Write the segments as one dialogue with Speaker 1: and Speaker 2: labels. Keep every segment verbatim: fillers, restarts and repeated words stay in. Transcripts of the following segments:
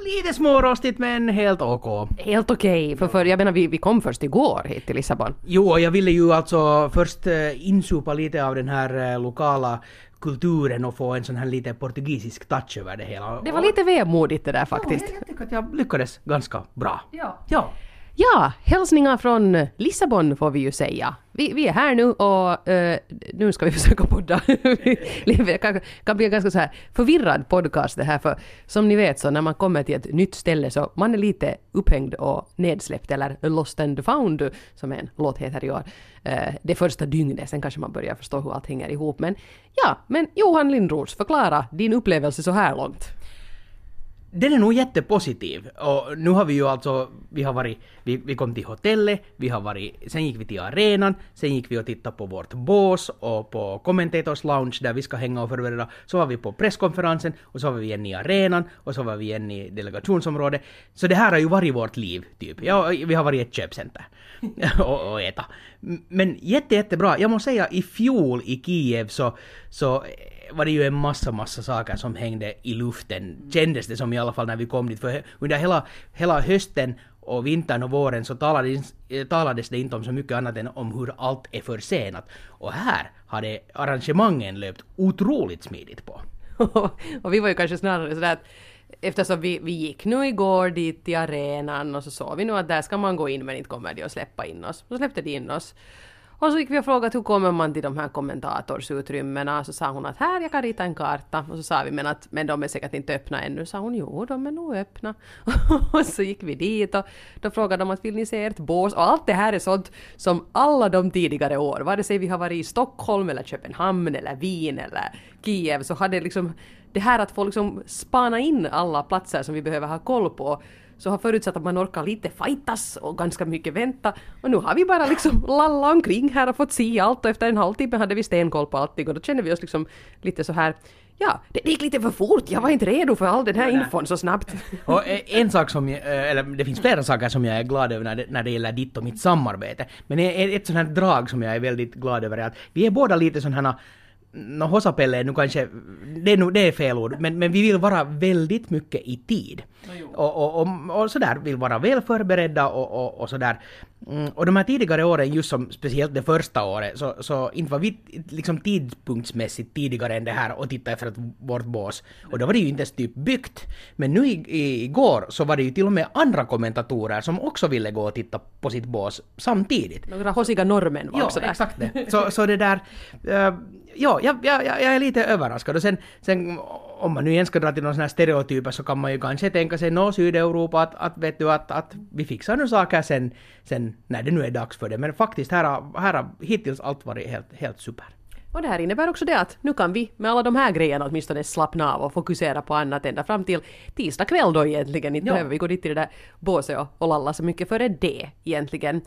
Speaker 1: lite smårostigt men helt okej.
Speaker 2: Helt okej, okay, för, för jag menar vi, vi kom först igår hit till Lissabon.
Speaker 1: Jo, jag ville ju alltså först uh, insupa lite av den här uh, lokala kulturen och få en sån här lite portugisisk touch över det hela.
Speaker 2: Det var lite vemodigt det där faktiskt.
Speaker 1: Ja, jag tycker att jag lyckades ganska bra.
Speaker 2: Ja.
Speaker 1: Ja.
Speaker 2: Ja, hälsningar från Lissabon får vi ju säga. Vi, vi är här nu och uh, nu ska vi försöka podda. Det kan, kan bli en ganska så här förvirrad podcast det här, för som ni vet så när man kommer till ett nytt ställe så man är lite upphängd och nedsläppt, eller lost and found som en låt heter i år. Uh, det första dygnet, sen kanske man börjar förstå hur allt hänger ihop. Men ja, men Johan Lindros, förklara din upplevelse så här långt.
Speaker 1: Den är nog jättepositiv. Och nu har vi ju alltså, vi har varit, vi, vi kom till hotellet, vi har varit, sen gick vi till arenan, sen gick vi och tittade på vårt bås och på Commentators Lounge där vi ska hänga och förbereda. Så var vi på presskonferensen och så var vi igen i arenan och så var vi igen i delegationsområdet. Så det här har ju varit vårt liv typ. Ja, vi har varit i ett köpcenter och, och äta. Men jätte, jättebra. Jag måste säga, i fjol i Kiev så, så var det ju en massa, massa saker som hängde i luften. Kändes det som i alla fall när vi kom dit. För under hela, hela hösten och vintern och våren så talades, talades det inte om så mycket annat än om hur allt är försenat. Och här hade arrangemangen löpt otroligt smidigt på.
Speaker 2: Och vi var ju kanske snarare sådär att eftersom vi, vi gick nu igår dit till arenan och så såg vi nu att där ska man gå in men inte kommer de att släppa in oss. Så släppte de in oss. Och så gick vi och frågade hur kommer man till de här kommentatorsutrymmena. Så sa hon att här jag kan rita en karta. Och så sa vi men att men de är säkert inte öppna ännu. Så sa hon jo de är nog öppna. Och så gick vi dit och då frågade de att vill ni se ert bås. Och allt det här är sånt som alla de tidigare år. Vare sig vi har varit i Stockholm eller Köpenhamn eller Wien eller Kiev. Så hade liksom det här att få liksom spana in alla platser som vi behöver ha koll på. Så har förutsatt att man orkar lite fightas och ganska mycket vänta. Och nu har vi bara liksom lalla omkring här och fått se allt. Och efter en halvtimme hade vi stenkoll på allting. Och då känner vi oss liksom lite så här. Ja, det gick lite för fort. Jag var inte redo för all den här infon så snabbt.
Speaker 1: Och en sak som jag, eller det finns flera saker som jag är glad över när det, när det gäller ditt och mitt samarbete. Men ett sånt här drag som jag är väldigt glad över är att vi är båda lite sån här. No, hosapelle nu kanske, det är, det är fel ord, men, men vi vill vara väldigt mycket i tid. No, och, och, och, och sådär, vill vara väl förberedda och, och, och sådär. Mm, och de här tidigare åren, just som speciellt det första året, så, så inte var vi liksom tidpunktsmässigt tidigare än det här och titta efter ett, vårt bås. Och då var det ju inte ens typ byggt. Men nu i, i, igår så var det ju till och med andra kommentatorer som också ville gå och titta på sitt bås samtidigt.
Speaker 2: Några hosiga norrmän var
Speaker 1: ja,
Speaker 2: också där.
Speaker 1: Exakt det. Så, så det där, uh, ja, jag, jag, jag är lite överraskad. Och sen, sen om man nu igen ska dra till någon sån här stereotyper så kan man ju kanske tänka sig nå Sydeuropa att, att, vet du, att, att vi fixar nu saker sen, sen när det nu är dags för det. Men faktiskt här har, här har hittills allt varit helt, helt super.
Speaker 2: Och det här innebär också det att nu kan vi med alla de här grejerna åtminstone slappna av och fokusera på annat ända fram till tisdag kväll då egentligen. Inte ja. behöver vi gå dit till det där båset och, och lalla så mycket före det egentligen.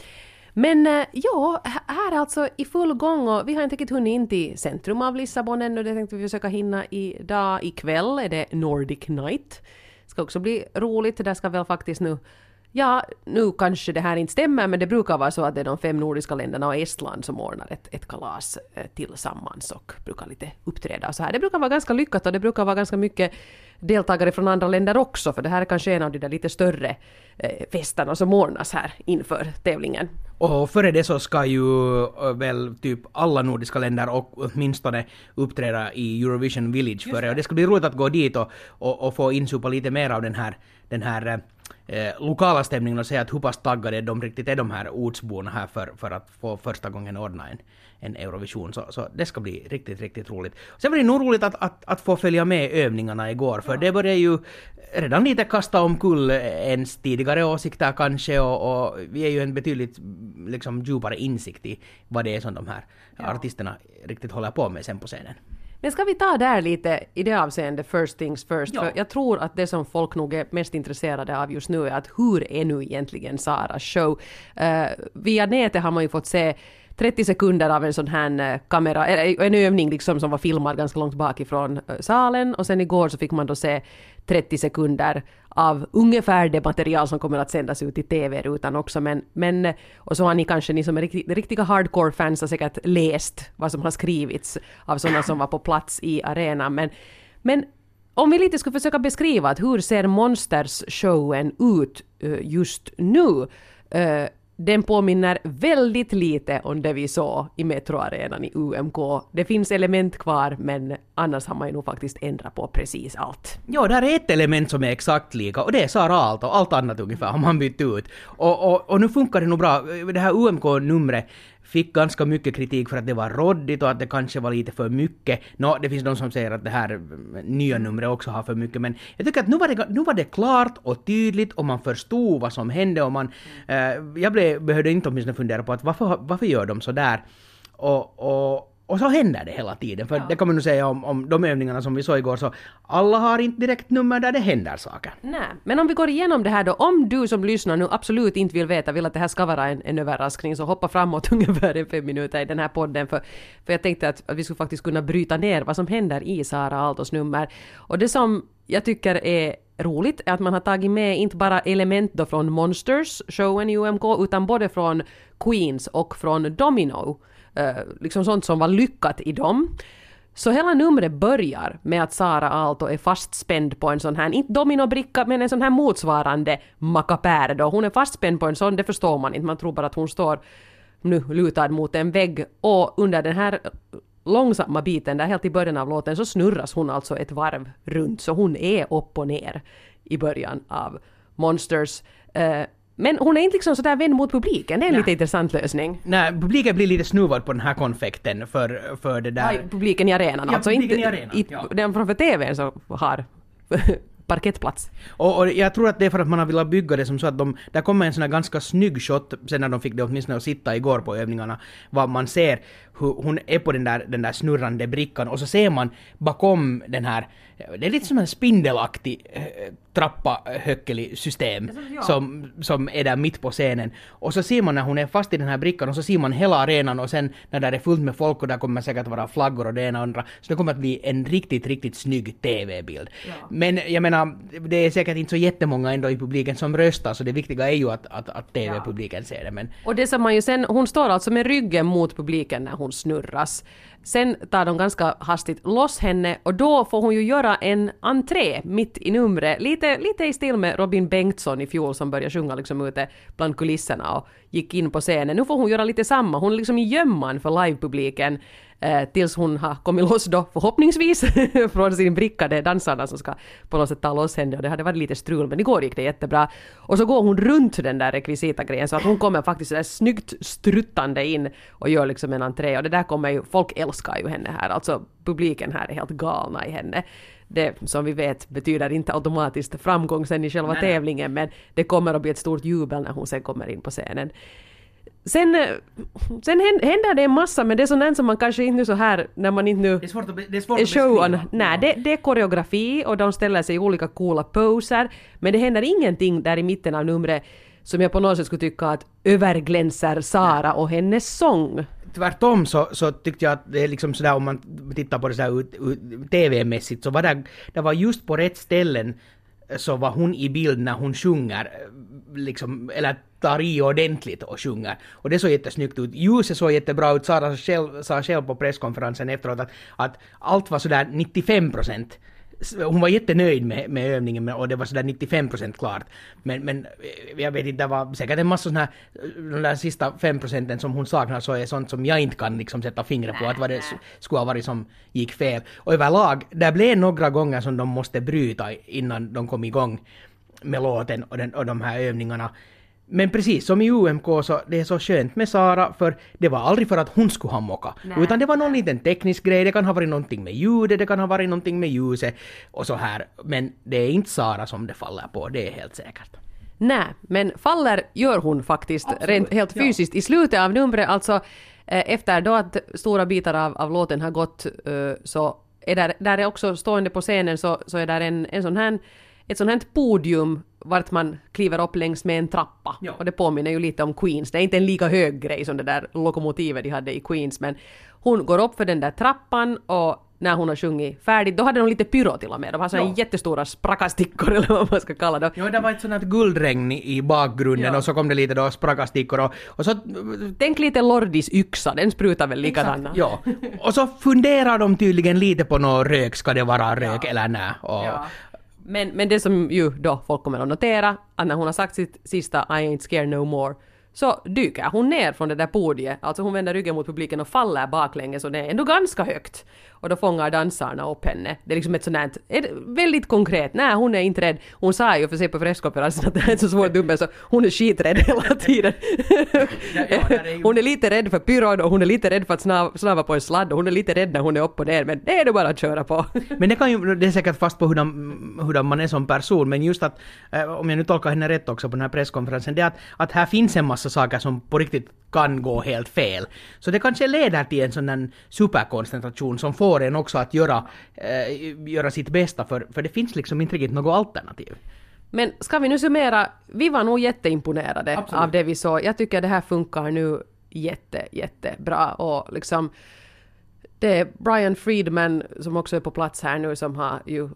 Speaker 2: Men ja, här är alltså i full gång och vi har inte riktigt hunnit in till centrum av Lissabon ännu. Det tänkte vi försöka hinna idag. Ikväll är det Nordic Night. Det ska också bli roligt. Där ska väl faktiskt nu, ja nu kanske det här inte stämmer men det brukar vara så att det är de fem nordiska länderna och Estland som ordnar ett, ett kalas tillsammans och brukar lite uppträda och så här. Det brukar vara ganska lyckat och det brukar vara ganska mycket deltagare från andra länder också för det här är kanske en av de där lite större eh, festerna som ordnas här inför tävlingen.
Speaker 1: Och före det så ska ju väl typ alla nordiska länder och åtminstone uppträda i Eurovision Village före och det ska bli roligt att gå dit och, och, och få insupa lite mer av den här, den här eh, lokala stämningen och säga att hur pass taggade de riktigt är de här ortsborna här för, för att få första gången ordna en, en Eurovision. Så, så det ska bli riktigt, riktigt roligt. Sen var det nog roligt att, att, att få följa med övningarna igår för ja. det började ju redan lite kasta omkull ens tidigare åsikter kanske och, och vi är ju en betydligt liksom djupare insikt i vad det är som de här ja. artisterna riktigt håller på med sen på scenen.
Speaker 2: Men ska vi ta där lite i det avseende first things first? Ja. För jag tror att det som folk nog är mest intresserade av just nu är att hur är nu egentligen Saras show? Uh, via nätet har man ju fått se trettio sekunder av en sån här kamera, eller en övning liksom som var filmad ganska långt bakifrån salen och sen igår så fick man då se trettio sekunder av ungefär det material som kommer att sändas ut i tv-rutan också men, men och så har ni kanske, ni som är riktiga, riktiga hardcore-fans har säkert läst vad som har skrivits av sådana som var på plats i arenan men, men om vi lite ska försöka beskriva att hur ser Monsters-showen ut uh, just nu. Uh, den påminner väldigt lite om det vi såg i Metro-arenan i U M K. Det finns element kvar, men annars har man ju nog faktiskt ändrat på precis allt.
Speaker 1: Ja, där är ett element som är exakt lika, och det är Sara Aalto, och allt annat ungefär har man bytt ut. Och, och, och nu funkar det nog bra. Det här U M K-numret fick ganska mycket kritik för att det var roddigt och att det kanske var lite för mycket. Nå, det finns de som säger att det här nya numret också har för mycket, men jag tycker att nu var det, nu var det klart och tydligt och man förstod vad som hände och man, eh, jag blev, behövde inte åtminstone fundera på att varför, varför gör de så där? Och, och Och så händer det hela tiden, för ja. Det kan man nu säga om, om de övningarna som vi såg igår, så alla har inte direkt nummer där det händer saker.
Speaker 2: Nej, men om vi går igenom det här då, om du som lyssnar nu absolut inte vill veta, vill att det här ska vara en, en överraskning, så hoppa framåt ungefär en fem minuter i den här podden, för, för jag tänkte att, att vi skulle faktiskt kunna bryta ner vad som händer i Sara Aaltos nummer. Och det som jag tycker är roligt är att man har tagit med inte bara element då från Monsters, showen i U M K, utan både från Queens och från Domino. Uh, liksom sånt som var lyckat i dem. Så hela numret börjar med att Sara Aalto är fastspänd på en sån här, inte dominobricka, men en sån här motsvarande mackapär då. Hon är fastspänd på en sån, det förstår man inte. Man tror bara att hon står nu lutad mot en vägg, och under den här långsamma biten där helt i början av låten så snurras hon alltså ett varv runt, så hon är upp och ner i början av Monsters. Uh, Men hon är inte liksom sådär vänd mot publiken. Det är en Nej. lite intressant lösning.
Speaker 1: Nej, publiken blir lite snuvad på den här konfekten för, för det där.
Speaker 2: Nej, publiken i arenan.
Speaker 1: Ja,
Speaker 2: alltså
Speaker 1: publiken
Speaker 2: inte,
Speaker 1: i arenan.
Speaker 2: I,
Speaker 1: ja.
Speaker 2: Den framför tvn så har parkettplats.
Speaker 1: Och, och jag tror att det är för att man har velat bygga det som så att de, där kommer en sån här ganska snygg shot sen när de fick det åtminstone att sitta igår på övningarna, vad man ser hur hon är på den där, den där snurrande brickan, och så ser man bakom den här, det är lite som en spindelaktig äh, trappa höckelig system som, som är där mitt på scenen, och så ser man när hon är fast i den här brickan, och så ser man hela arenan, och sen när det är fullt med folk och där kommer säkert vara flaggor och det ena och andra, så det kommer att bli en riktigt, riktigt snygg tv-bild. Ja. Men jag menar, det är säkert inte så jättemånga ändå i publiken som röstar, så det viktiga är ju att, att, att tv-publiken ser det. Men...
Speaker 2: Och det som man ju sen, hon står alltså med ryggen mot publiken när hon snurras. Sen tar de ganska hastigt loss henne, och då får hon ju göra en entré mitt i numret. Lite, lite i stil med Robin Bengtsson i fjol som började sjunga liksom ute bland kulisserna och gick in på scenen. Nu får hon göra lite samma. Hon är liksom i gömman för livepubliken eh, tills hon har kommit loss då förhoppningsvis från sin brickade dansarna som ska på något sätt ta loss henne. Och det hade varit lite strul, men igår gick det jättebra. Och så går hon runt den där rekvisitagrejen så att hon kommer faktiskt där snyggt struttande in och gör liksom en entré. Och det där kommer ju, folk älskar ju henne här. Alltså publiken här är helt galna i henne. Det som vi vet betyder inte automatiskt framgång sen i själva Nej. tävlingen, men det kommer att bli ett stort jubel när hon sen kommer in på scenen. Sen, sen händer det en massa, men det är sånt som man kanske inte så här när man inte nu
Speaker 1: det är svårt att, be, det är svårt
Speaker 2: är
Speaker 1: att beskriva.
Speaker 2: Nej, det, det är koreografi och de ställer sig i olika coola poser, men det händer ingenting där i mitten av numret som jag på något sätt skulle tycka att överglänser Sara Nej. och hennes sång.
Speaker 1: Tvärtom så, så tyckte jag att det är liksom sådär, om man tittar på det så här ut, ut, tv-mässigt, så var det, det var just på rätt ställen så var hon i bild när hon sjunger liksom, eller tar i ordentligt och sjunger. Och det såg jättesnyggt ut. Ljuset såg jättebra ut. Sara själv, sa själv på presskonferensen efteråt att, att allt var sådär nittiofem procent. Hon var jättenöjd med, med övningen och det var sådär nittiofem procent klart. Men, men jag vet inte, det var säkert en massa sådana här, de där sista fem procenten som hon saknar, så är sånt som jag inte kan liksom sätta fingret på, att vad det skulle ha varit som gick fel. Och överlag, det blev några gånger som de måste bryta innan de kom igång med låten och, den, och de här övningarna. Men precis som i U M K så det är så skönt med Sara, för det var aldrig för att hon skulle ha mocka. Nej. Utan det var någon liten teknisk grej, det kan ha varit någonting med ljudet, det kan ha varit någonting med ljuset och så här. Men det är inte Sara som det faller på, det är helt säkert.
Speaker 2: Nej, men faller gör hon faktiskt rent, helt fysiskt ja. I slutet av numret, alltså eh, efter då att stora bitar av, av låten har gått eh, så är där, där är också stående på scenen så, så är där en, en sån här, ett sånt här podium vart man kliver upp längs med en trappa. Ja. Och det påminner ju lite om Queens. Det är inte en lika hög grej som det där lokomotivet de hade i Queens, men hon går upp för den där trappan och när hon har sjungit färdigt. Då hade de lite pyro till och med. De har sådana jättestora sprakastickor eller vad man ska kalla det.
Speaker 1: Ja, det var ett sånt här guldregn i bakgrunden ja. Och så kom det lite då sprakastickor och, och så...
Speaker 2: Tänk lite Lordis yxa, den sprutar väl likadana.
Speaker 1: Ja, och så funderar de tydligen lite på någon rök, ska det vara rök ja. Eller nej. Och...
Speaker 2: Ja. Men, men det som ju då folk kommer att notera, att när hon har sagt sitt sista I ain't scared no more, så dyker hon ner från det där podiet. Alltså hon vänder ryggen mot publiken och faller baklänges och det är ändå ganska högt. Och då fångar dansarna upp henne. Det är liksom ett sånt här, väldigt konkret. Nej, hon är inte rädd. Hon sa ju för sig på presskonferensen att det är ett så svårt dubbel så hon är skiträdd hela tiden. Ja, ja, är ju... Hon är lite rädd för pyron och hon är lite rädd för att snava, snava på en sladd och hon är lite rädd när hon är uppe där. Men det är det bara att köra på.
Speaker 1: Men det kan ju, det är säkert fast på hurdan, hurdan man är som person. Men just att, om jag nu tolkar henne rätt också på den här presskonferensen, det är att, att här finns en massa saker som på riktigt kan gå helt fel. Så det kanske leder till en sån här superkoncentration som får en också att göra, äh, göra sitt bästa, för, för det finns liksom inte riktigt något alternativ.
Speaker 2: Men ska vi nu summera, vi var nog jätteimponerade Absolut. Av det vi såg. Jag tycker det här funkar nu jätte, jättebra och liksom det är Brian Friedman som också är på plats här nu som har ju,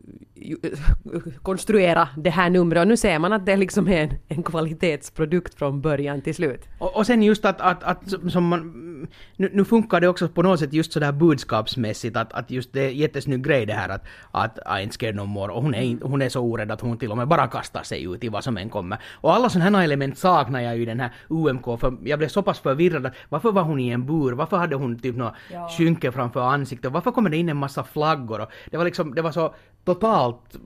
Speaker 2: ju konstruerat det här numret och nu ser man att det liksom är en, en kvalitetsprodukt från början till slut.
Speaker 1: Och, och sen just att, att, att som man, nu, nu funkar det också på något sätt just sådär budskapsmässigt att, att just det är jättesnygg grej det här att, att I ain't scared no more och hon är, hon är så orädd att hon till och med bara kastar sig ut i vad som än kommer. Och alla sådana här element saknar jag ju i den här U M K för jag blev så pass förvirrad att varför var hon i en bur? Varför hade hon typ något ja. skynke framför ansiktet? Varför kommer det in en massa flaggor? Och det var liksom, det var så totalt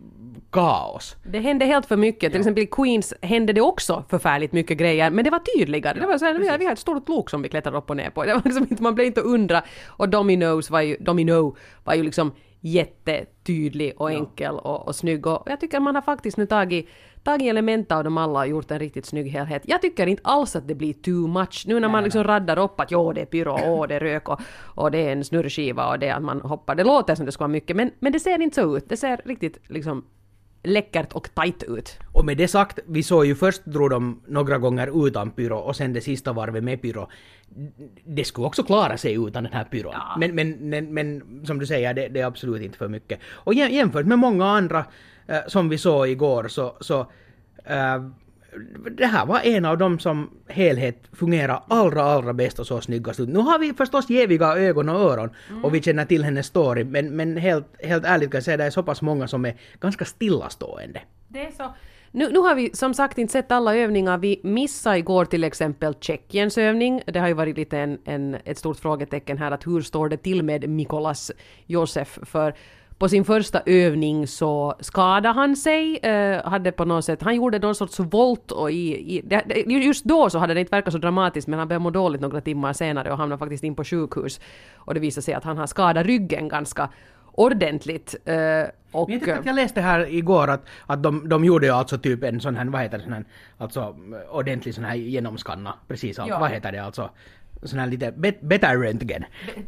Speaker 1: kaos.
Speaker 2: Det hände helt för mycket. Ja. Till exempel i Queens hände det också förfärligt mycket grejer, men det var tydligare. Ja, det var så här, vi, har, vi har ett stort lok som vi klättrar upp och ner på. Det var liksom inte, man blev inte undra. Och Dominoes var ju, Domino var ju liksom jättetydlig och enkel ja. och, och snygg. Och jag tycker man har faktiskt nu tagit, tagit element av dem alla och gjort en riktigt snygg helhet. Jag tycker inte alls att det blir too much. Nu när nej, man liksom nej. raddar upp att jo, det är pyro, åh, det är rök och, och det är en snurrskiva och det är att man hoppar. Det låter som det ska vara mycket, men, men det ser inte så ut. Det ser riktigt liksom läckert och tajt ut.
Speaker 1: Och med det sagt, vi såg ju först drog de några gånger utan pyro och sen det sista varvet med pyro. Det skulle också klara sig utan den här pyron. Ja. Men, men, men, men som du säger, det, det är absolut inte för mycket. Och jämfört med många andra eh, som vi såg igår så, så eh, det här var en av dem som helhet fungerar allra, allra bäst och så snyggast ut. Nu har vi förstås jäviga ögon och öron mm. och vi känner till hennes story, men, men helt, helt ärligt kan jag säga att det är så pass många som är ganska stillastående.
Speaker 2: Det är så. Nu, nu har vi som sagt inte sett alla övningar. Vi missade igår till exempel Tjeckiens övning. Det har ju varit lite en, en, ett stort frågetecken här att hur står det till med Mikolas Josef, för på sin första övning så skadade han sig, eh, hade på något sätt, han gjorde någon sorts volt och i, i det, just då så hade det inte verkat så dramatiskt, men han började må dåligt några timmar senare och hamnade faktiskt in på sjukhus och det visade sig att han har skadat ryggen ganska ordentligt. Eh, och
Speaker 1: jag, jag läste här igår att, att de, de gjorde ju alltså typ en sån här, vad heter det, sån här, alltså ordentlig sån här genomskanna, precis allt, ja. Vad heter det alltså? Sån här lite bet- beta-röntgen.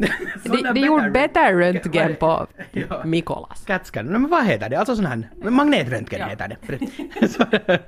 Speaker 2: De, de gjorde beta-röntgen på ja. Mikolas.
Speaker 1: Catscan. Men vad heter det? Alltså sån här magnetröntgen ja. heter det.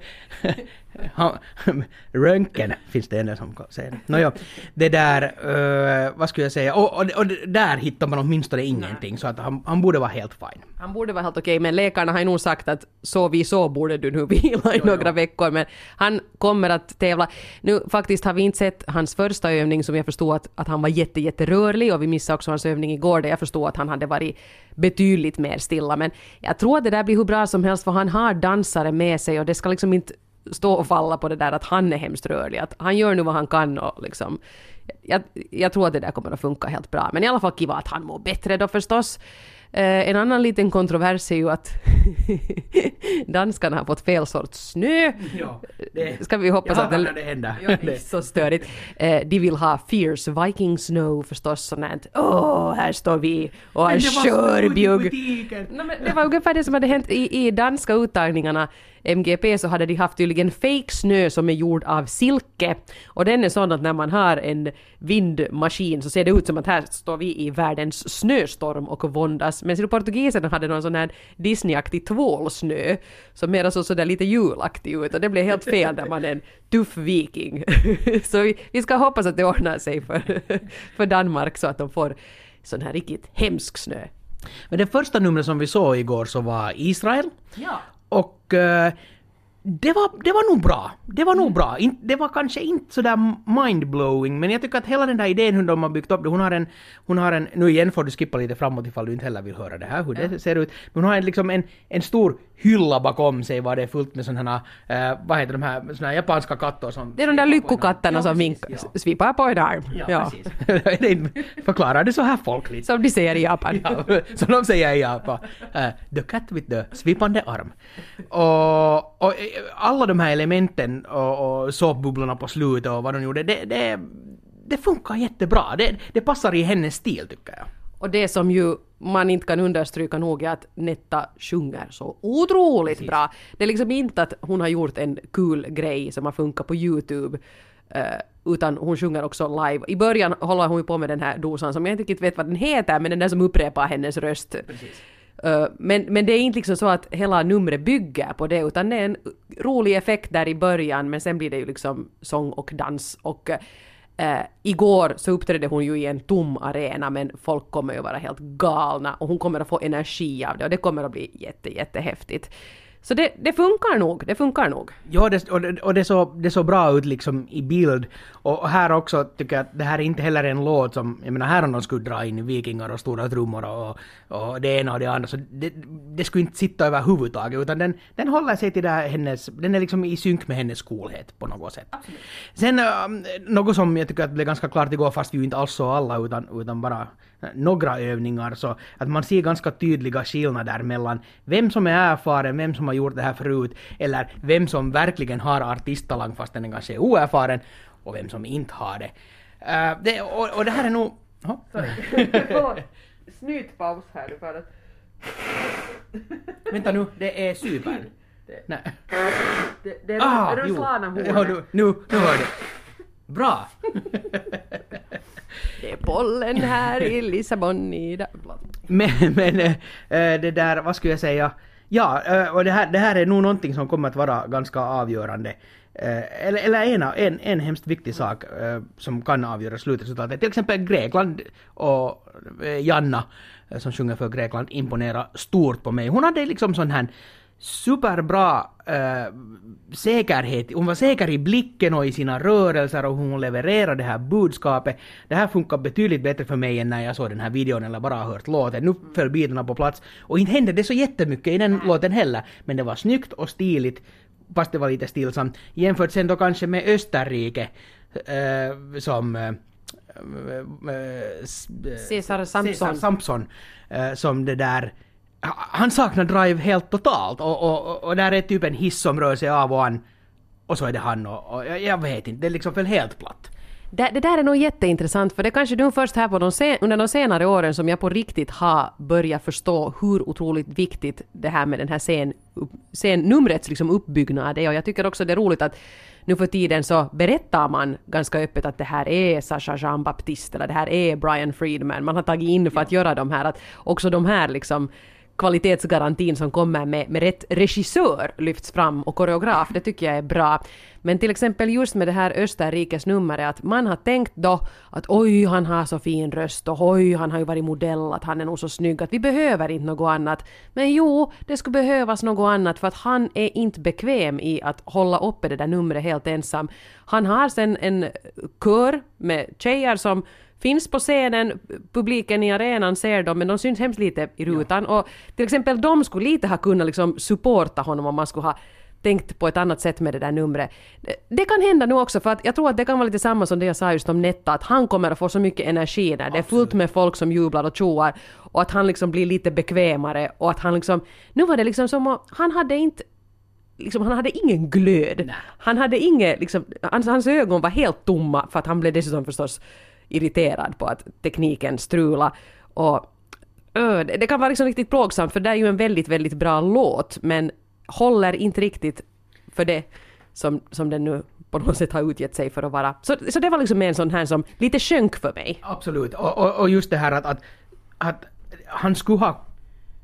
Speaker 1: Röntgen finns det en som säger det. Nåja, det där, uh, vad skulle jag säga? Och, och, och där hittar man åtminstone ingenting, så att han, han borde vara helt fine.
Speaker 2: Han borde vara helt okej, men läkarna har ju nog sagt att så vi så borde du nu vila i jo, några jo. veckor, men han kommer att tävla. Nu faktiskt har vi inte sett hans första övning som jag förstod att, att han var jätte, jätterörlig, och vi missade också hans övning igår där jag förstod att han hade varit betydligt mer stilla, men jag tror att det där blir hur bra som helst, för han har dansare med sig och det ska liksom inte stå och falla på det där att han är hemskt rörlig. Att han gör nu vad han kan och liksom, jag, jag tror att det där kommer att funka helt bra. Men i alla fall kiva att han mår bättre då förstås. Eh, en annan liten kontrovers är ju att danskarna har fått fel sorts snö.
Speaker 1: Ja, det,
Speaker 2: ska vi hoppas att det,
Speaker 1: det händer.
Speaker 2: Ja, det är så störigt. Eh, de vill ha fierce Viking snow förstås, sånt här. Åh, här står vi och har körbjugg. No, men det var ungefär det som hade hänt i, i danska uttagningarna. M G P så hade de haft tydligen fake snö som är gjord av silke, och den är sån att när man har en vindmaskin så ser det ut som att här står vi i världens snöstorm och våndas, men så portugiserna hade någon sån här Disney-aktig tvålsnö som mer så sådär lite julaktig ut, och det blev helt fel när man är en tuff viking. Så vi, vi ska hoppas att det ordnar sig för, för Danmark så att de får sån här riktigt hemsk snö.
Speaker 1: Men det första numret som vi såg igår så var Israel.
Speaker 2: Ja.
Speaker 1: Och eh, det var, det var nog bra. Det var nog mm. bra. In, det var kanske inte så där mindblowing, men jag tycker att hela den där idén hur de har byggt upp det, hon har en, hon har en, nu igen får du skippa lite framåt ifall du inte heller vill höra det här, hur ja. det ser ut. Men hon har en, liksom en, en stor hylla bakom sig var det är fullt med sådana här, eh, vad heter de här, såna här japanska katter som...
Speaker 2: Det är de där lyckokatterna ja, som vink, ja. svipar på en arm.
Speaker 1: Ja, ja. precis. Förklarar det så här folkligt.
Speaker 2: Som de säger i Japan.
Speaker 1: Ja, som de säger i Japan. Uh, the cat with the svipande arm. Och, och alla de här elementen och, och såpbubblorna på slutet och vad de gjorde, det, det, det funkar jättebra. Det, det passar i hennes stil tycker jag.
Speaker 2: Och det som ju man inte kan understryka nog är att Netta sjunger så otroligt Precis. bra. Det är liksom inte att hon har gjort en kul grej som har funkat på YouTube, uh, utan hon sjunger också live. I början håller hon ju på med den här dosan som jag inte riktigt vet vad den heter, men den där som upprepar hennes röst.
Speaker 1: Precis.
Speaker 2: Uh, men, men det är inte liksom så att hela numret bygger på det, utan det är en rolig effekt där i början, men sen blir det ju liksom sång och dans. Och uh, igår så uppträdde hon ju i en tom arena, men folk kommer ju vara helt galna och hon kommer att få energi av det och det kommer att bli jätte, jättehäftigt. Så det, det funkar nog, det funkar nog.
Speaker 1: Ja, det, och, det, och det, så, det så bra ut liksom i bild. Och, och här också tycker jag att det här är inte heller en låt som, jag menar här om de skulle dra in vikingar och stora trummor och, och det ena och det andra, så det, det skulle inte sitta överhuvudtaget, utan den, den håller sig till det här hennes, den är liksom i synk med hennes coolhet på något sätt.
Speaker 2: Absolut.
Speaker 1: Sen um, något som jag tycker att blev ganska klart igår, fast vi ju inte alls så alla utan, utan bara några övningar, så att man ser ganska tydliga skillnader mellan vem som är erfaren, vem som har gjort det här förut, eller vem som verkligen har artisttalang fast den kanske är oerfaren, och vem som inte har det. Uh, det och, och det här är nog... Oh.
Speaker 2: Snytpaus här du för att...
Speaker 1: Vänta nu, det är Cypern. Nej.
Speaker 2: Det, det är
Speaker 1: ah,
Speaker 2: Ruslana-hornet.
Speaker 1: Ja, nu, nu, nu hör du. Bra!
Speaker 2: Det är bollen här i Lissabon i dag.
Speaker 1: Men, men äh, det där, vad skulle jag säga? Ja, äh, och det här, det här är nog någonting som kommer att vara ganska avgörande. Äh, eller eller en, en, en hemskt viktig sak äh, som kan avgöra slutresultatet. Till exempel Grekland och äh, Janna äh, som sjunger för Grekland imponerar stort på mig. Hon hade liksom sån här superbra äh, säkerhet. Hon var säker i blicken och i sina rörelser och hon levererade det här budskapet. Det här funkar betydligt bättre för mig än när jag såg den här videon eller bara hört låten. Nu föll bitarna på plats och inte hände det så jättemycket i den låten heller. Men det var snyggt och stiligt, fast det var lite stillsamt. Jämfört sen då kanske med Österrike äh, som... Äh,
Speaker 2: Cesar Sampson.
Speaker 1: Cesar Sampson äh, som det där... Han saknar drive helt totalt och, och, och där är typ en hiss som rör sig av och an och så är det han och, och jag vet inte, det är liksom väl helt platt.
Speaker 2: Det, det där är nog jätteintressant, för det är kanske nu först här på de sen, under de senare åren som jag på riktigt har börjat förstå hur otroligt viktigt det här med den här scen, scennumrets liksom uppbyggnad är, och jag tycker också det är roligt att nu för tiden så berättar man ganska öppet att det här är Sacha Jean-Baptiste eller det här är Brian Friedman. Man har tagit in för att göra de här, att också de här liksom kvalitetsgarantin som kommer med, med rätt regissör lyfts fram och koreograf, det tycker jag är bra. Men till exempel just med det här Österrikes numret, att man har tänkt då att oj, han har så fin röst och oj, han har ju varit modell, att han är nog så snygg, att vi behöver inte något annat. Men jo, det skulle behövas något annat, för att han är inte bekväm i att hålla uppe det där numret helt ensam. Han har sen en kör med tjejer som finns på scenen, publiken i arenan ser dem, men de syns hemskt lite i rutan. Ja. Och till exempel de skulle lite ha kunnat liksom supporta honom om man skulle ha tänkt på ett annat sätt med det där numret. Det, det kan hända nu också, för att jag tror att det kan vara lite samma som det jag sa just om Netta, att han kommer att få så mycket energi när det är fullt med folk som jublar och tjoar, och att han liksom blir lite bekvämare, och att han liksom, nu var det liksom som att han hade inte liksom, han hade ingen glöd. Nej. Han hade inget, liksom, hans, hans ögon var helt tomma, för att han blev dessutom förstås irriterad på att tekniken strula, och ö, det, det kan vara liksom riktigt plågsamt, för det är ju en väldigt, väldigt bra låt, men håller inte riktigt för det som, som den nu på något sätt har utgett sig för att vara. Så, så det var liksom en sån här som lite sjönk för mig.
Speaker 1: Absolut, och, och, och just det här att, att, att han skulle ha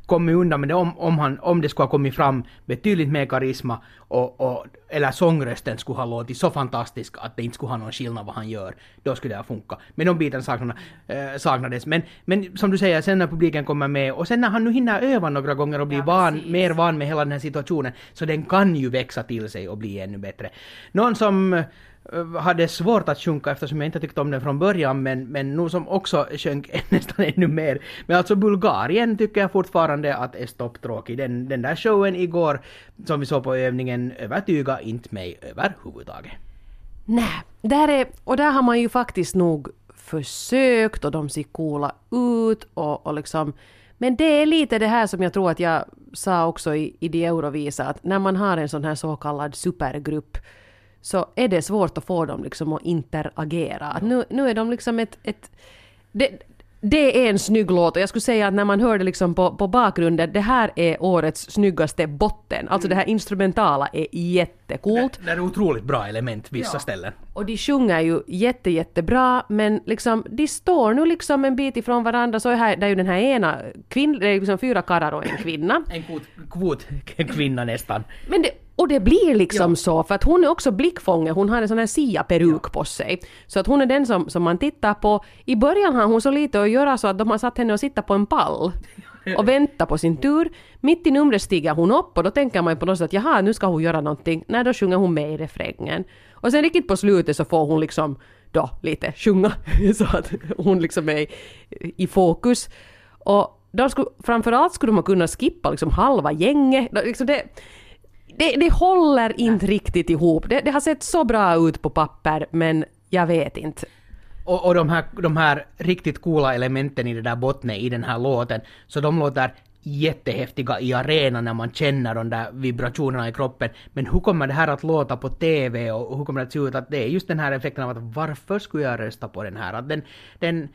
Speaker 1: kommit undan med det om, om, han, om det skulle ha kommit fram betydligt mer karisma och, och, eller sångrösten skulle ha låtit så fantastisk att det inte skulle ha någon skillnad vad han gör. Då skulle det ha funkat. Men de bitarna saknade, äh, saknades. Men, men som du säger, sen när publiken kommer med och sen när han nu hinner öva några gånger och blir ja, van, mer van med hela den här situationen, så den kan ju växa till sig och bli ännu bättre. Någon som hade svårt att sjunka eftersom jag inte tyckte om den från början, men, men nu som också sjönk nästan ännu mer. Men alltså Bulgarien tycker jag fortfarande att är stopptråkig. Den, den där showen igår som vi såg på övningen övertyga inte mig överhuvudtaget.
Speaker 2: Nej, där är, och där har man ju faktiskt nog försökt och de ser coola ut och, och liksom, men det är lite det här som jag tror att jag sa också i, i de Eurovisa, att när man har en sån här så kallad supergrupp så är det svårt att få dem liksom att interagera. Nu, nu är de liksom ett... ett det, det är en snygg låt och jag skulle säga att när man hör det liksom på, på bakgrunden, det här är årets snyggaste botten. Alltså mm. det här instrumentala är jättecoolt.
Speaker 1: Det, det är otroligt bra element vissa ja. ställen.
Speaker 2: Och de sjunger ju jätte, jättebra, men liksom, de står nu liksom en bit ifrån varandra. Så är här, det är ju den här ena kvinnan, det är liksom fyra karlar och en kvinna.
Speaker 1: En kvot, kvot kvinna nästan.
Speaker 2: Men det, och det blir liksom ja. så, för att hon är också blickfånge, hon har en sån här Sia-peruk ja. på sig. Så att hon är den som, som man tittar på. I början har hon så lite att göra så att de har satt henne att sitta på en pall och vänta på sin tur. Mitt i numret stiger hon upp och då tänker man på något sätt att jaha, nu ska hon göra någonting. Nej, då sjunger hon med i refrängen. Och sen riktigt på slutet så får hon liksom då lite sjunga så att hon liksom är i fokus. Och då skulle, framförallt skulle man kunna skippa liksom halva gänget. Liksom det, det, det håller inte riktigt ihop. Det, det har sett så bra ut på papper, men jag vet inte.
Speaker 1: Och, och de, här, de här riktigt coola elementen i det där bottnet i den här låten, så de låter jättehäftiga i arenan när man känner de där vibrationerna i kroppen. Men hur kommer det här att låta på tv och hur kommer det att se ut? Att det är just den här effekten av att varför skulle jag rösta på den här? Att den, den,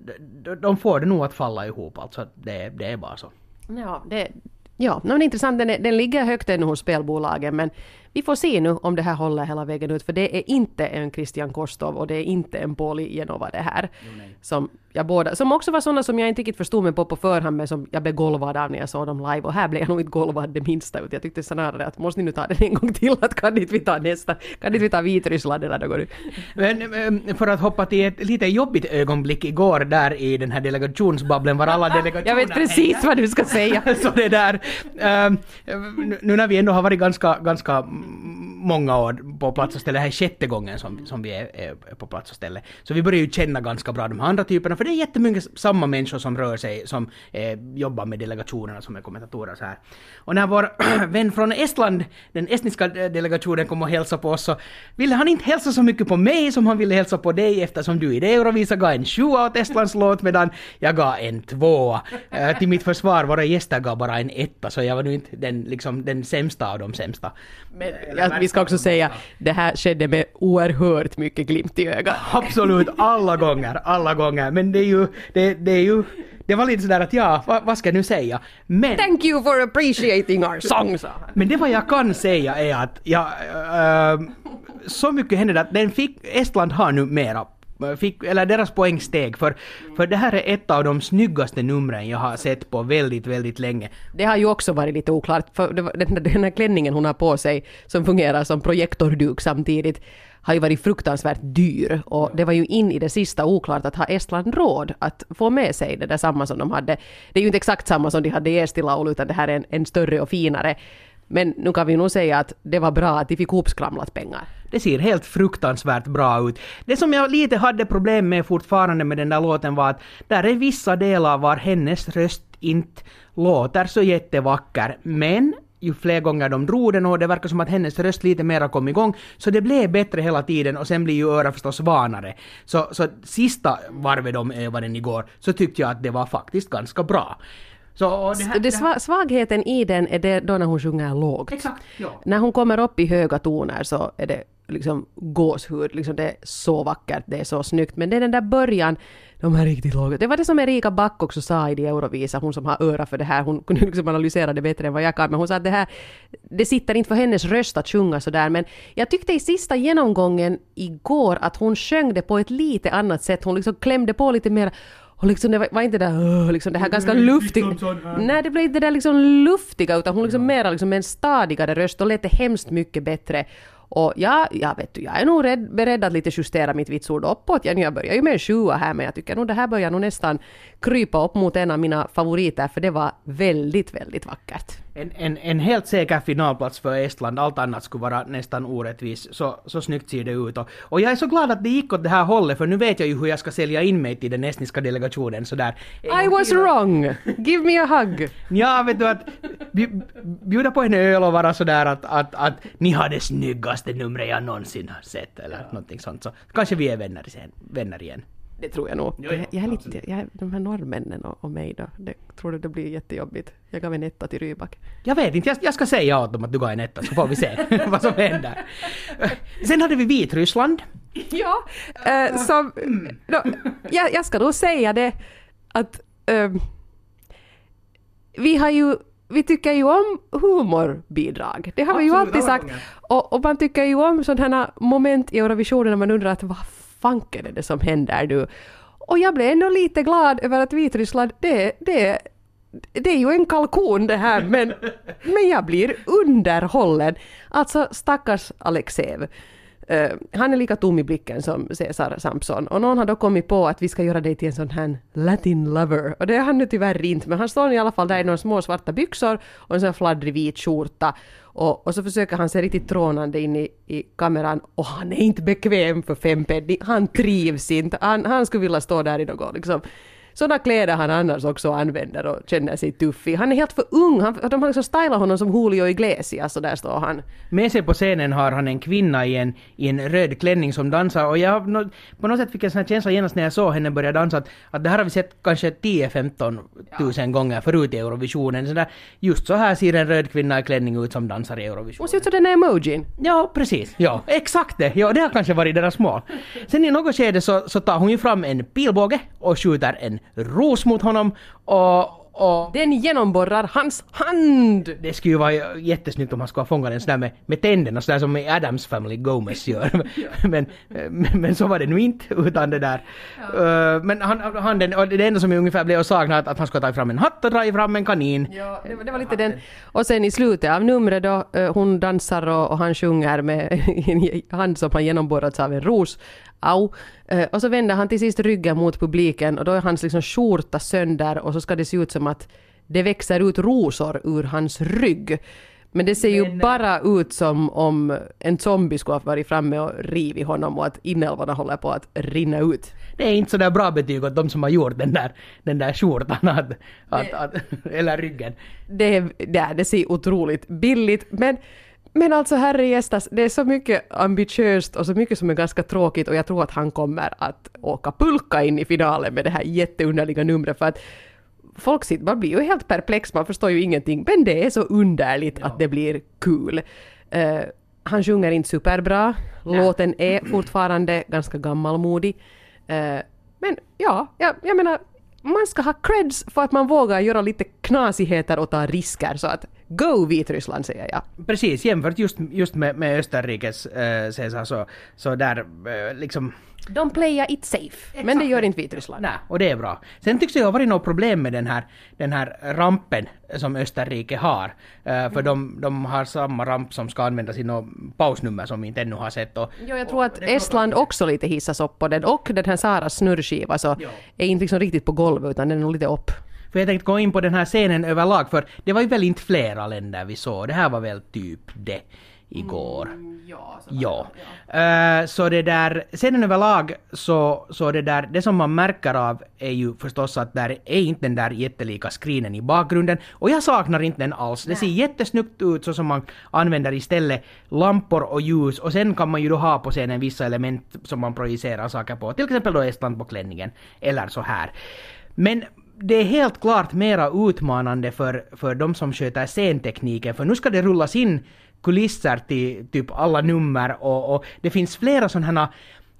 Speaker 1: de får det nog att falla ihop. Alltså det, det är bara så.
Speaker 2: Ja, det, ja men intressant. Den, är, den ligger högt ännu hos spelbolagen, men vi får se nu om det här håller hela vägen ut, för det är inte en Christian Kostov och det är inte en Pauli Genova det här. Jo, som, jag båda, som också var sådana som jag inte riktigt förstod mig på på förhand, men som jag blev golvad av när jag såg dem live, och här blev jag nog inte golvad det minsta ut. Jag tyckte snarare att måste ni nu ta den en gång till, att kan inte vi ta nästa, kan inte vi ta Vitryssland eller något nu.
Speaker 1: Men för att hoppa till ett lite jobbigt ögonblick igår där i den här delegationsbabblen var alla delegationer.
Speaker 2: Jag vet precis vad du ska säga.
Speaker 1: Så det där, um, nu när vi ändå har varit ganska, ganska många år på plats och ställe, det här är sjätte gången som, som vi är, är på plats och ställe. Så vi börjar ju känna ganska bra de här andra typerna, för det är jättemycket samma människor som rör sig, som eh, jobbar med delegationerna, som är kommentatorer så här. Och när vår vän från Estland, den estniska delegationen, kom och hälsa på oss, så ville han inte hälsa så mycket på mig som han ville hälsa på dig, eftersom du i det Eurovisa gav en sjua åt Estlands låt, medan jag gav en tvåa. Eh, till mitt försvar, våra gäster gav bara en etta, så jag var nu inte den, liksom, den sämsta av de sämsta.
Speaker 2: Men ja, vi ska också säga, det här skedde med oerhört mycket glimt i ögat.
Speaker 1: Absolut, alla gånger, alla gånger. Men det är ju, det, det är ju, det var lite sådär att ja, vad, vad ska jag nu säga? Men,
Speaker 2: thank you for appreciating our song, sa han.
Speaker 1: Men det vad jag kan säga är att ja, äh, så mycket hände att den fick, Estland har nu mera Fick, eller deras poängsteg, för, för det här är ett av de snyggaste numren jag har sett på väldigt, väldigt länge.
Speaker 2: Det har ju också varit lite oklart, för den, den här klänningen hon har på sig som fungerar som projektorduk samtidigt har ju varit fruktansvärt dyr, och det var ju in i det sista oklart att ha Estland råd att få med sig det där samma som de hade. Det är ju inte exakt samma som de hade i Estilaulu, utan det här är en, en större och finare. Men nu kan vi nog säga att det var bra att de fick hopskramlat pengar.
Speaker 1: Det ser helt fruktansvärt bra ut. Det som jag lite hade problem med fortfarande med den där låten var att där är vissa delar var hennes röst inte låter så jättevacker. Men ju fler gånger de drog den, och det verkar som att hennes röst lite mera kom igång, så det blev bättre hela tiden, och sen blir ju öra förstås vanare. Så, så sista varvet de övade den igår, så tyckte jag att det var faktiskt ganska bra. Så det här,
Speaker 2: det sva- svagheten i den är det då när hon sjunger lågt.
Speaker 1: Exakt, ja.
Speaker 2: När hon kommer upp i höga toner så är det liksom gåshud. Liksom det är så vackert, det är så snyggt. Men det är den där början, de är riktigt låga. Det var det som Erika Back också sa i de Eurovisa, hon som har öra för det här. Hon kunde liksom analysera det bättre än vad jag kan. Men hon sa att det här, det sitter inte för hennes röst att sjunga sådär. Men jag tyckte i sista genomgången igår att hon sjöng det på ett lite annat sätt. Hon liksom klämde på lite mer. Och liksom det var, var inte det där, liksom det här ganska luftiga. Nej, det blev inte det där liksom luftiga, utan hon liksom ja. mera liksom med en stadigare röst och lät det hemskt mycket bättre. Och ja, jag vet du, jag är nog rädd, beredd att lite justera mitt vitsord uppåt. Jag, jag börjar ju med en sjua här, men jag tycker nog det här börjar nog nästan krypa upp mot en av mina favoriter, för det var väldigt, väldigt vackert.
Speaker 1: En, en, en helt säker finalplats för Estland, allt annat skulle vara nästan orättvis. Så, så snyggt ser det ut. Och, och jag är så glad att det gick åt det här hållet, för nu vet jag ju hur jag ska sälja in mig till den estniska delegationen. Så där.
Speaker 2: I was wrong! Give me a hug!
Speaker 1: Ja, vet du att bjuda på en öl och vara sådär att, att, att ni har det snyggaste numret jag någonsin har sett, eller ja. någonting sånt. Så kanske vi är vänner, vänner igen.
Speaker 2: Det tror jag nog.
Speaker 1: Jo, jo,
Speaker 2: jag är lite, jag, de här norrmännen och, och mig då, det tror du det blir jättejobbigt. Jag gav en etta till Rybak.
Speaker 1: Jag vet inte, jag, jag ska säga åt dem att du gav en etta, så får vi se vad som händer. Sen hade vi Vitryssland.
Speaker 2: Ja, äh, som, då, jag, jag ska då säga det att äh, vi har ju vi tycker ju om humorbidrag. Det har Absolut, vi ju alltid sagt. Och, och man tycker ju om sådana moment i Eurovisionen när man undrar att vad fanken är det som händer nu? Och jag blev ändå lite glad över att Vitryssland, det, det, det är ju en kalkon det här, men, men jag blir underhållen. Alltså stackars Alexev. Uh, han är lika tom i blicken som Cesar Sampson. Och någon har då kommit på att vi ska göra dig till en sån här Latin lover. Och det är han nu tyvärr inte. Men han står i alla fall där i några små svarta byxor och en sån fladdrig vit skjorta. Och, och så försöker han se riktigt trånande in i, i kameran. Och han är inte bekväm för fem penny. Han trivs inte. Han, han skulle vilja stå där i något liksom. Sådana kläder han annars också använder och känner sig tuffig. Han är helt för ung. Han, de har liksom stylat honom som Julio Iglesias, så där står han.
Speaker 1: Med sig på scenen har han en kvinna i en, i en röd klänning som dansar. Och jag no, på något sätt fick en sån här känsla genast när jag såg henne börja dansa att, att det här har vi sett kanske tio femton tusen ja. gånger förut i Eurovisionen. Så där, just så här ser en röd kvinna i klänning ut som dansar i Eurovisionen.
Speaker 2: Och ser ut som den här emojin.
Speaker 1: Ja, precis. Ja, exakt det. Ja, det har kanske varit deras mål. Sen i något skede så, så tar hon ju fram en pilbåge och skjuter en ros mot honom och, och
Speaker 2: den genomborrar hans hand.
Speaker 1: Det skulle ju vara jättesnyggt om han skulle ha fångat den sådär med, med tänderna, sådär som i Adams Family Gomez gör. men, men, men så var det nu inte, utan det där. Ja. Uh, men han, han, den, och det enda som ungefär blev att sakna att, att han skulle ta fram en hatt och dra fram en kanin.
Speaker 2: Ja, det, det var lite den. Och sen i slutet av numret då, uh, hon dansar och, och han sjunger med en hand som har genomborrats av en ros. Au. Uh, och så vänder han till sist ryggen mot publiken och då är hans liksom skjorta sönder och så ska det se ut som att det växer ut rosor ur hans rygg. Men det ser ju Men, bara ut som om en zombie skulle ha varit framme och rivit honom och att inälvorna håller på att rinna ut.
Speaker 1: Det är inte så där bra betyg åt de som har gjort den där, den där skjortan att, att, att, eller ryggen.
Speaker 2: Det, det, det ser otroligt billigt, men Men alltså herrejästas, det är så mycket ambitiöst och så mycket som är ganska tråkigt och jag tror att han kommer att åka pulka in i finalen med det här jätteunderliga numret för att folk sitter, man blir ju helt perplex, man förstår ju ingenting, men det är så underligt ja. att det blir kul. Uh, han sjunger inte superbra, ja. låten är fortfarande ganska gammalmodig, uh, men ja, jag, jag menar man ska ha creds för att man vågar göra lite knasigheter och ta risker, så att go Vitryssland säger jag.
Speaker 1: Precis, jämfört just, just med, med Österrikes äh, Cesar så, så där äh, liksom
Speaker 2: de playar it safe, Exakt. men det gör inte Vitryssland.
Speaker 1: Nej, och det är bra. Sen tycks det ha varit något problem med den här, den här rampen som Österrike har. Uh, för mm. de, de har samma ramp som ska användas i något pausnummer som vi inte ännu har sett. Och,
Speaker 2: jo, jag tror att Estland också lite hissas upp på den. Och den här Saras snurrskiva så jo. är inte liksom riktigt på golvet utan den är nog lite upp.
Speaker 1: För jag tänkte gå in på den här scenen överlag, för det var ju väl inte flera länder vi såg. Det här var väl typ det igår.
Speaker 2: Mm, ja, så,
Speaker 1: ja. ja. Uh, så det där, scenen överlag så, så det där, det som man märker av är ju förstås att där är inte den där jättelika screenen i bakgrunden. Och jag saknar inte den alls. Det ser jättesnyggt ut så som man använder istället lampor och ljus. Och sen kan man ju då ha på scenen vissa element som man projicerar saker på. Till exempel då Estland på klänningen. Eller så här. Men det är helt klart mera utmanande för, för de som sköter scentekniken. För nu ska det rullas in kulisser till typ alla nummer och, och det finns flera sådana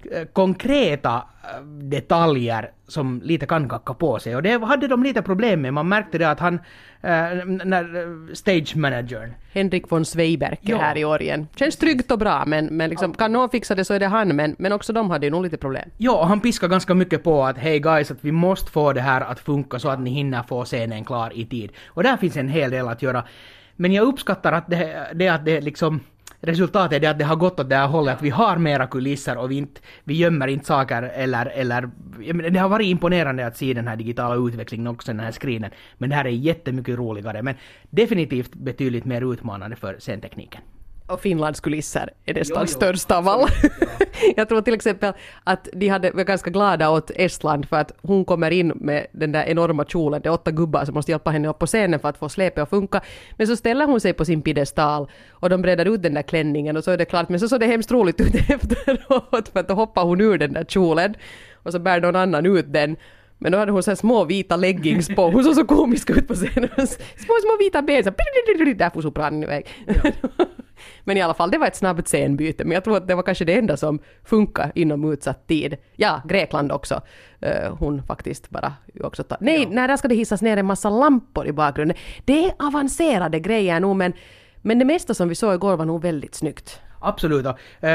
Speaker 1: eh, konkreta eh, detaljer som lite kan kacka på sig. Och det hade de lite problem med. Man märkte det att han, eh, när eh, stage managern
Speaker 2: Henrik von Zweiberke
Speaker 1: Ja.
Speaker 2: här i år igen. Känns tryggt och bra, men, men liksom, kan någon fixa det så är det han, men, men också de hade ju nog lite problem.
Speaker 1: Ja, och han piskar ganska mycket på att hej guys, att vi måste få det här att funka så att ni hinner få scenen klar i tid. Och där finns en hel del att göra. Men jag uppskattar att det, det att det liksom resultatet är det att det har gått åt det här hållet, att vi har mera kulisser och vi, inte, vi gömmer inte saker eller, eller det har varit imponerande att se den här digitala utvecklingen också, den här screenen. Men det här är jättemycket roligare, men definitivt betydligt mer utmanande för scentekniken.
Speaker 2: Och Finlands kulisser är nästan
Speaker 1: Jo, jo,
Speaker 2: största av alla. Jag tror till exempel att de hade, var ganska glada åt Estland för att hon kommer in med den där enorma kjolen. Det är åtta gubbar som måste hjälpa henne upp på scenen för att få släpet att funka. Men så ställer hon sig på sin piedestal och de bredar ut den där klänningen och så är det klart. Men så såg det hemskt roligt ut efteråt för att då hoppar hon ur den där kjolen och så bär någon annan ut den. Men då hade hon så här små vita leggings på. Hon såg så komisk ut på scenen. Små, små vita ben. Så där får sopranen iväg. Ja. Men i alla fall, det var ett snabbt scenbyte. Men jag tror att det var kanske det enda som funkar inom utsatt tid. Ja, Grekland också. Uh, hon faktiskt bara också tar... Nej, ja. nej, där ska det hissas ner en massa lampor i bakgrunden. Det är avancerade grejer nog, men, men det mesta som vi såg igår var nog väldigt snyggt.
Speaker 1: Absolut. Uh,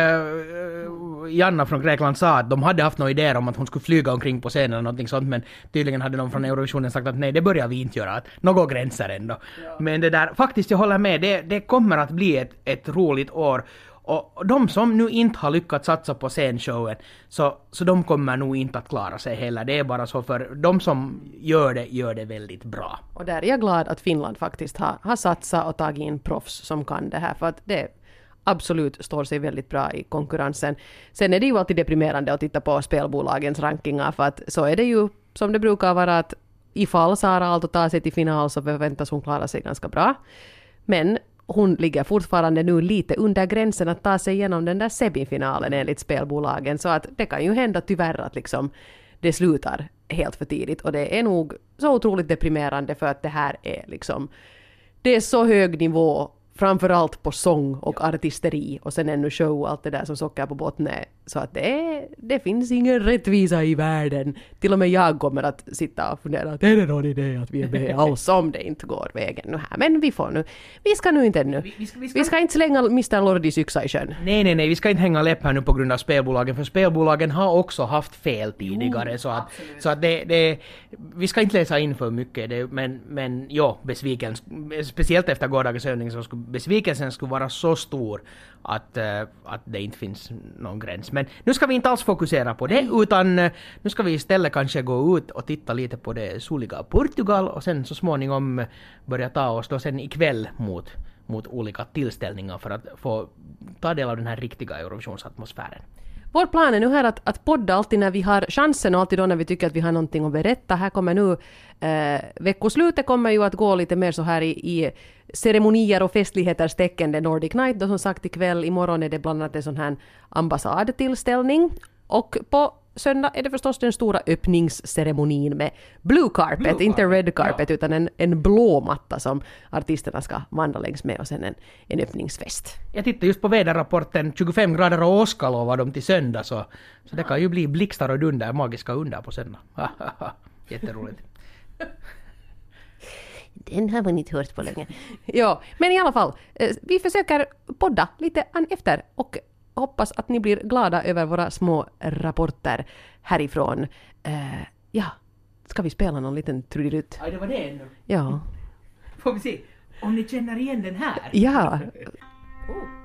Speaker 1: Janna från Grekland sa att de hade haft några idéer om att hon skulle flyga omkring på scenen eller någonting sånt, men tydligen hade de från Eurovisionen sagt att nej, det börjar vi inte göra, att några gränser ändå. Ja. Men det där, faktiskt jag håller med, det, det kommer att bli ett, ett roligt år. Och de som nu inte har lyckats satsa på scenshowen, så, så de kommer nog inte att klara sig heller. Det är bara så, för de som gör det, gör det väldigt bra.
Speaker 2: Och där är jag glad att Finland faktiskt har, har satsat och tagit in proffs som kan det här, för att det absolut står sig väldigt bra i konkurrensen. Sen är det ju alltid deprimerande att titta på spelbolagens rankingar, för att så är det ju som det brukar vara, att ifall Sara Aalto tar sig till final så förväntas hon klara sig ganska bra. Men hon ligger fortfarande nu lite under gränsen att ta sig igenom den där semifinalen enligt spelbolagen, så att det kan ju hända tyvärr att liksom det slutar helt för tidigt, och det är nog så otroligt deprimerande, för att det här är liksom, det är så hög nivå framförallt på sång och artisteri och sen ännu show och allt det där som socker på botten är. Så att det, är, det finns ingen rättvisa i världen. Till och med jag kommer att sitta och fundera att är det någon idé att vi är med alls om det inte går vägen nu här. Men vi får nu. Vi ska nu inte ännu. Vi, vi, ska, vi, ska... vi ska inte slänga mister Lordis yxa i sjön.
Speaker 1: Nej, nej, nej. Vi ska inte hänga läpp här nu på grund av spelbolagen. För spelbolagen har också haft fel tidigare. Jo, så att, så att det, det, vi ska inte läsa in för mycket. Det, men, men ja, besviken. Speciellt efter gårdagens övning så skulle besvikelsen skulle vara så stor att, uh, att det inte finns någon gräns. Men nu ska vi inte alls fokusera på det, utan uh, nu ska vi istället kanske gå ut och titta lite på det soliga Portugal och sen så småningom börja ta oss då sen ikväll mot, mot olika tillställningar för att få ta del av den här riktiga Eurovisionsatmosfären.
Speaker 2: Vår plan är nu här att, att podda alltid när vi har chansen och alltid då när vi tycker att vi har någonting att berätta. Här kommer nu, eh, veckoslutet kommer ju att gå lite mer så här i, i ceremonier och festligheters tecken. Det Nordic Night då som sagt ikväll. Imorgon är det bland annat en sån här ambassadtillställning. Och på söndag är det förstås den stora öppningsceremonin med blue carpet, blue carpet. Inte red carpet, ja. Utan en, en blå matta som artisterna ska vandra längs med och sen en, en öppningsfest.
Speaker 1: Jag tittar just på väderrapporten, tjugofem grader och åska lovar de till söndag, så, så det kan ju bli blixtar och dunder, magiska under på söndag. Jätteroligt.
Speaker 2: Den har man inte hört på länge. Ja, men i alla fall, vi försöker podda lite an efter och hoppas att ni blir glada över våra små rapporter härifrån. Uh, ja, ska vi spela någon liten trudelutt?
Speaker 1: Ja, det var det ännu.
Speaker 2: Ja.
Speaker 1: Får vi se om ni känner igen den här?
Speaker 2: Ja.
Speaker 1: Oh.